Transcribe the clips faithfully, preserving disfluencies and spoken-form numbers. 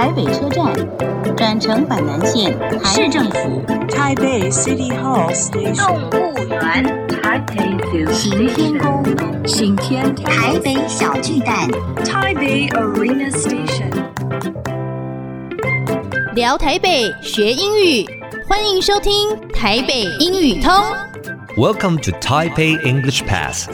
台北車站，轉乘板南線，市政府， 台北 City Hall Station， 動物園，行天宮，行天台北小巨蛋， 台北 Arena Station。 聊台北學英語，歡迎收聽台北英語通。 Welcome to Taipei English Pass.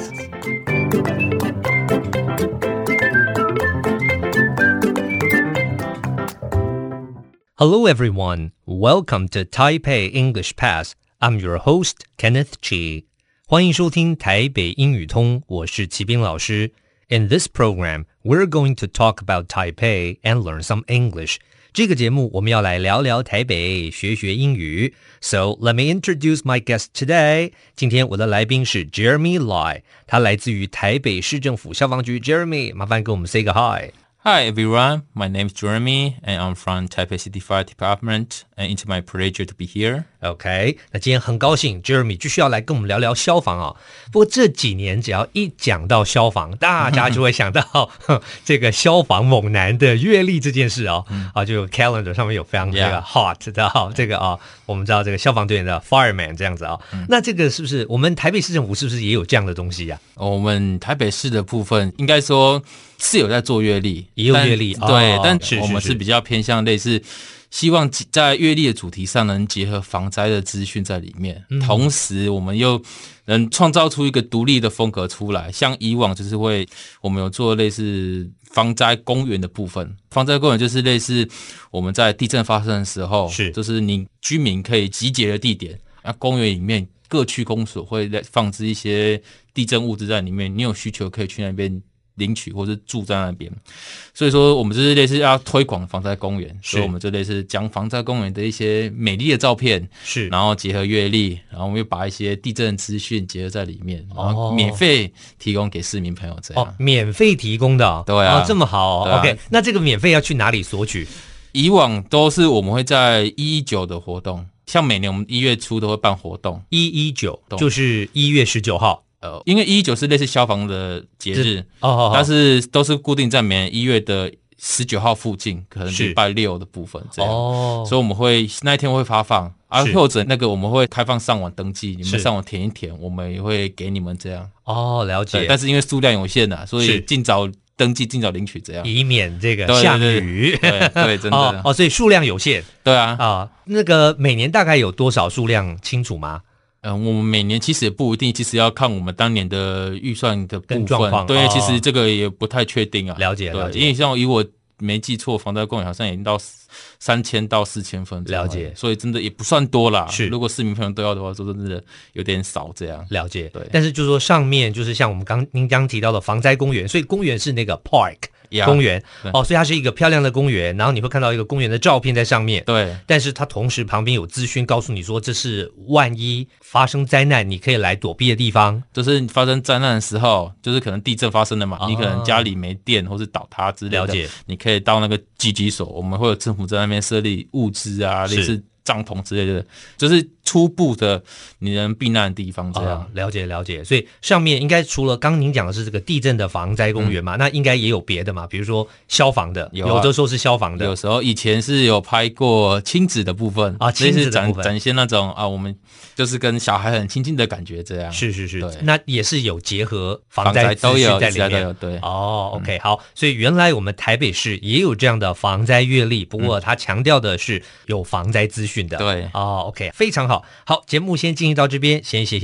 Hello everyone, welcome to Taipei English Pass. I'm your host, Kenneth Chi. 歡迎收聽台北英語通，我是齊斌老師。In this program, we're going to talk about Taipei and learn some English. 這個節目我們要來聊聊台北，學學英語。So let me introduce my guest today. 今天我的來賓是 Jeremy Lai， 他來自於台北市政府消防局。Jeremy， 麻煩跟我們 say 個 hi。Hi everyone, my name is Jeremy and I'm from Taipei City Fire Department and it's my pleasure to be here. OK, 那今天很高興 Jeremy 繼續要來跟我們聊聊消防啊。不過這幾年只要一講到消防，大家就會想到這個消防猛男的閱歷這件事啊。啊，就 calendar 上面有非常這個 hot 的啊，這個啊，我們知道這個消防隊員的 fireman 這樣子啊。那這個是不是我們台北市政府是不是也有這樣的東西呀？ 我們台北市的部分應該說是有在做閱歷， 也有閱歷， 對， 哦、 但我們是比較偏向類似，希望在閱歷的主題上能結合防災的資訊在裡面，嗯、同時我們又能創造出一個獨立的風格出來。像以往就是會，我們有做類似防災公園的部分，防災公園就是類似我們在地震發生的時候，是就是你居民可以集結的地點，那公園裡面各區公所會放置一些地震物資在裡面，你有需求可以去那邊領取或是住在那邊，所以說我們就是類似要推廣防災公園，所以我們就類似講防災公園的一些美麗的照片，是，然後結合閱歷，然後我們又把一些地震資訊結合在裡面，然後免費提供給市民朋友這樣。哦，免費提供的、哦，對啊，哦、這麼好、哦啊、，OK。那這個免費要去哪裡索取？以往都是我們會在一一九的活動，像每年我們一月初都會辦活動，一一九就是一月十九號。呃，因為一一九是類似消防的節日，哦，但是都是固定在每年一月的十九號附近，可能禮拜六的部分這樣，哦，所以我們會那一天會發放，啊，或者那個我們會開放上網登記，你們上網填一填，我們也會給你們這樣。哦，了解。但是因為數量有限吶，所以盡早登記，盡早領取這樣，以免這個下雨。對 對, 對, 對，真的哦。哦，所以數量有限。對啊。啊，那個每年大概有多少數量清楚嗎？嗯，我們每年其實也不一定，其實要看我們當年的預算的部分。對，哦、其實這個也不太確定啊。了解，了解。因為像以我沒記錯，防災公園好像已經到三千到四千份。了解，所以真的也不算多啦。是，如果市民朋友都要的話，說真的有點少這樣。了解，對。但是就是說上面就是像我們剛您剛提到的防災公園，所以公園是那個 park。Yeah, 公園哦，所以它是一個漂亮的公園，然後你會看到一個公園的照片在上面。對，但是它同時旁邊有資訊告訴你說，這是萬一發生災難你可以來躲避的地方。就是發生災難的時候，就是可能地震發生了嘛，哦、你可能家裡沒電或是倒塌之類的，了解，你可以到那個集集所，我們會有政府在那邊設立物資啊，類似帳篷之類的，就是初步的你能避難的地方這樣。哦、了解了解，所以上面應該除了剛剛您講的是這個地震的防災公園嘛、嗯，那應該也有別的嘛，比如說消防的，有、啊、有的時候是消防的，有時候以前是有拍過親子的部分啊，親子的部分展現那種啊，我們就是跟小孩很親近的感覺這樣。是是是，那也是有結合防災資訊在裡面。對哦 ，OK、嗯、好，所以原來我們台北市也有這樣的防災閱歷，不過他強調的是有防災資訊的。對哦 ，OK 非常好。好，節目先進行到這邊，先謝謝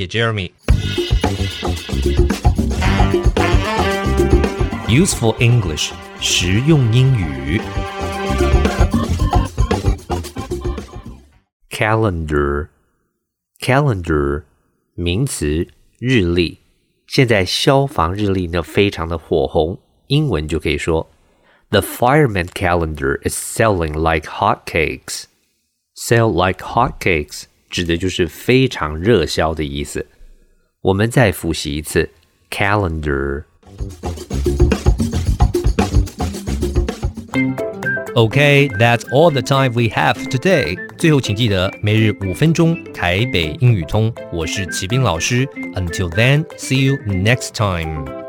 Jeremy。Useful English， 實用英語。Calendar， calendar 名詞，日曆。現在消防日曆呢非常的火紅，英文就可以說 The fireman calendar is selling like hotcakes。Sell like hotcakes 指的就是非常熱銷的意思。我們再複習一次 calendar。Okay, that's all the time we have today. 最後請記得每日五分鐘台北英語通，我是齊斌老師。Until then, see you next time.